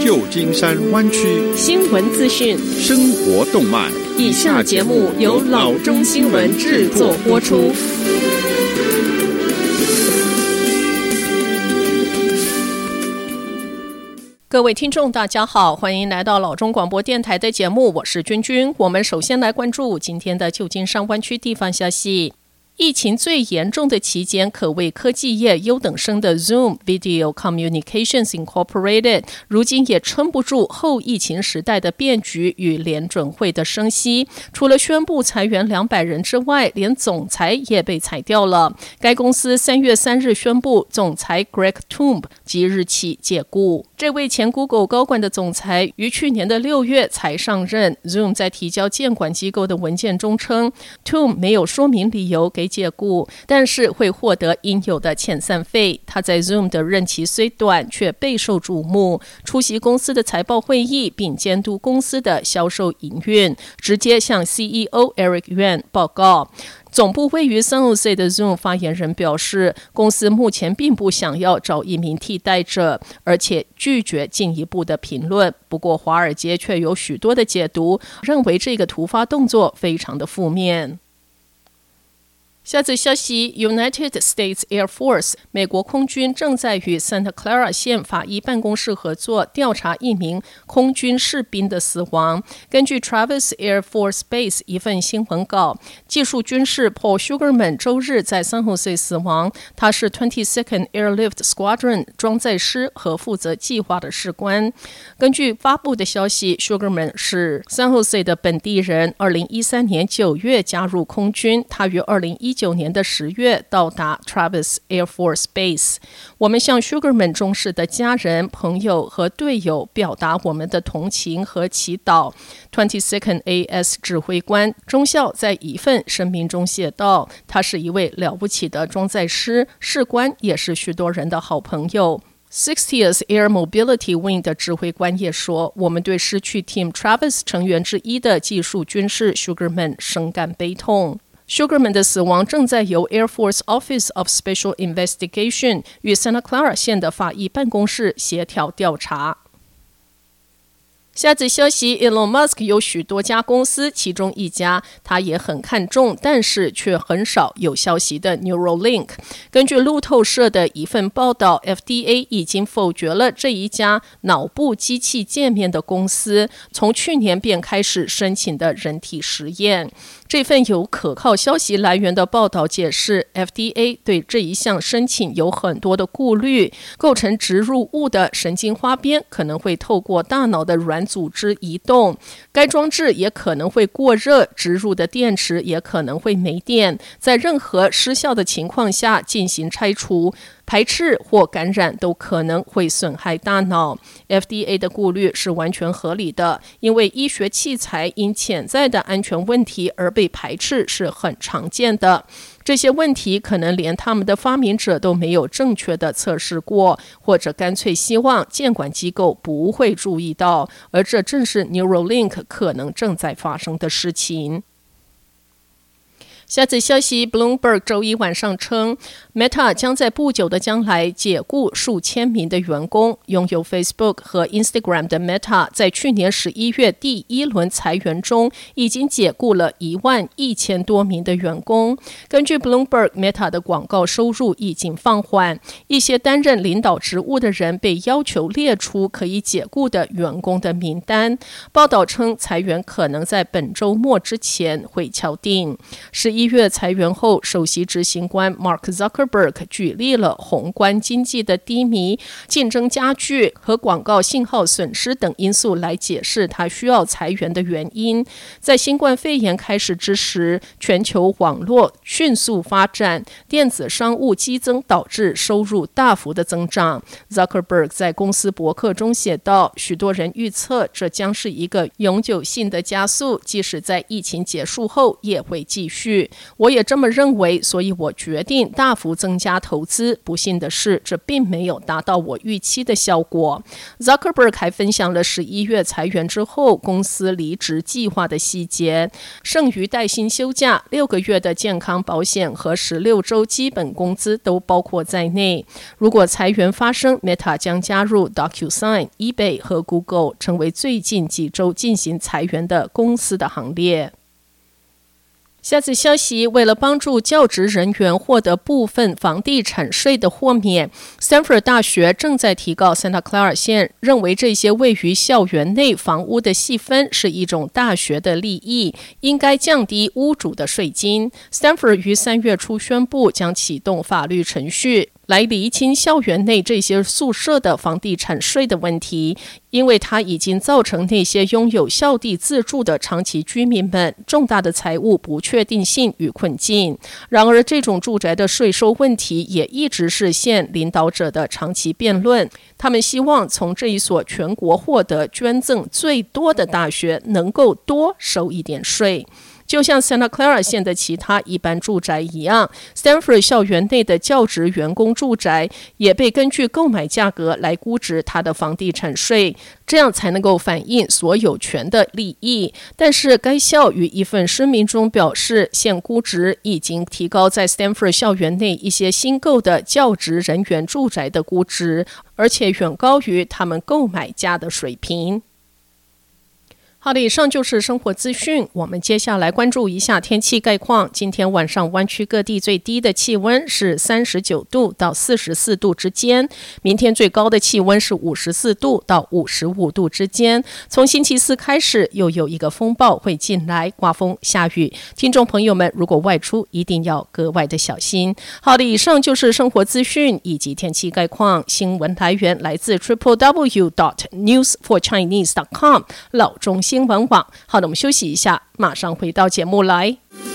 舊金山灣區新聞資訊、 生活動脈。 以下節目由老中新聞製作播出。各位聽眾大家好，歡迎來到老中廣播電台的節目，我是君君。我們首先來關注今天的舊金山灣區地方消息。疫情最嚴重的期間，可謂科技業優等生的 Zoom Video Communications Incorporated 如今也撐不住後疫情時代的變局與聯準會的升息。除了宣布裁員200人之外，連總裁也被裁掉了。該公司3月3日宣布，總裁 Greg Tomb 即日起解雇。這位前 Google 高管的總裁於去年的6月才上任。Zoom 在提交監管機構的文件中稱 ，Tomb 沒有說明理由給解雇，但是會獲得應有的遣散費。他在 Zoom 的任期雖短，卻備受矚目，出席公司的財報會議，並監督公司的銷售營運，直接向 CEO Eric Yuan 報告。總部位於 San Jose 的 Zoom 發言人表示，公司目前並不想要找一名替代者，而且拒絕進一步的評論。不過，華爾街卻有許多的解讀，認為這個突發動作非常的負面。下則消息 ，United States Air Force 美國空軍正在與 Santa Clara 縣法醫辦公室合作調查一名空軍士兵的死亡。根據 Travis Air Force Base 一份新聞稿，技術軍士 Paul Sugarman 周日在 San Jose 死亡。他是 22nd Airlift Squadron 裝載師和負責計劃的士官。根據發布的消息 ，Sugarman 是 San Jose 的本地人，2013年9月加入空軍。他於2019年的10月到達 Travis Air Force Base。我們向 Sugarman 中士的家人、朋友和隊友表達我們的同情和祈禱。22nd AS 指揮官中校在一份聲明中寫道：“他是一位了不起的裝載師，士官也是許多人的好朋友。” 60th Air Mobility Wing 的指揮官也說：“我們對失去 Team Travis 成員之一的技術軍士 Sugarman 深感悲痛。” Sugarman 的死亡正在由 Air Force Office of Special Investigation 與 Santa Clara 縣的法醫辦公室協調調查。下則消息 ，Elon Musk 有許多家公司，其中一家他也很看重，但是卻很少有消息的 Neuralink。根據路透社的一份報道 ，FDA 已經否決了這一家腦部機器界面的公司從去年便開始申請的人體實驗。這份有可靠消息來源的報道解釋 ，FDA 對這一項申請有很多的顧慮，構成植入物的神經花邊可能會透過大腦的軟組織移動，該裝置也可能會過熱，植入的電池也可能會沒電，在任何失效的情況下進行拆除。排斥或感染都可能會損害大腦。FDA 的顧慮是完全合理的，因為醫學器材因潛在的安全問題而被排斥是很常見的。這些問題可能連他們的發明者都沒有正確的測試過，或者乾脆希望監管機構不會注意到，而這正是 Neuralink 可能正在發生的事情。下則消息 ，Bloomberg 周一晚上稱 ，Meta 將在不久的將來解雇數千名的員工。擁有 Facebook 和 Instagram 的 Meta 在去年11月第一輪裁員中，已經解雇了11000多名的員工。根據 Bloomberg，Meta 的廣告收入已經放緩，一些擔任領導職務的人被要求列出可以解雇的員工的名單。報道稱，裁員可能在本週末之前會敲定。11月裁員後，首席執行官 Mark Zuckerberg 舉例了宏觀經濟的低迷、競爭加劇和廣告信號損失等因素來解釋他需要裁員的原因。在新冠肺炎開始之時，全球網絡迅速發展，電子商務激增導致收入大幅的增長。Zuckerberg 在公司博客中寫道：“許多人預測這將是一個永久性的加速，即使在疫情結束後也會繼續。” 去。我也這麼認為，所以我決定大幅增加投資。不幸的是，這並沒有達到我預期的效果。Zuckerberg 還分享了11月裁員之後公司離職計劃的細節，剩餘帶薪休假、6個月的健康保險和16週基本工資都包括在內。如果裁員發生， Meta 將加入 DocuSign、eBay 和 Google 成為最近幾週進行裁員的公司的行列。下次消息，為了幫助教職人員獲得部分房地產稅的豁免， Stanford 大學正在提告 Santa Clara 縣，認為這些位於校園內房屋的細分是一種大學的利益，應該降低屋主的稅金。 Stanford 於3月初宣布將啟動法律程序，來釐清校園內這些宿舍的房地產稅的問題，因為它已經造成那些擁有校地自住的長期居民們重大的財務不確定性與困境。然而，這種住宅的稅收問題也一直是縣領導者的長期辯論。他們希望從這一所全國獲得捐贈最多的大學能夠多收一點稅。就像 Santa Clara 縣的其他一般住宅一樣， Stanford 校園內的教職員工住宅也被根據購買價格來估值它的房地產稅，這樣才能夠反映所有權的利益。但是該校於一份聲明中表示，現估值已經提高在 Stanford 校園內一些新購的教職人員住宅的估值，而且遠高於他們購買價的水平。好的，以上就是生活資訊。我們接下來關注一下天氣概況。今天晚上灣區各地最低的氣溫是39度到44度之間，明天最高的氣溫是54度到55度之間。從星期四開始，又有一個風暴會進來，颳風下雨。聽眾朋友們，如果外出，一定要格外的小心。好的，以上就是生活資訊以及天氣概況。新聞來源來自 www.newsforchinese.com 老中新聞網。好的，我們休息一下，馬上回到節目來。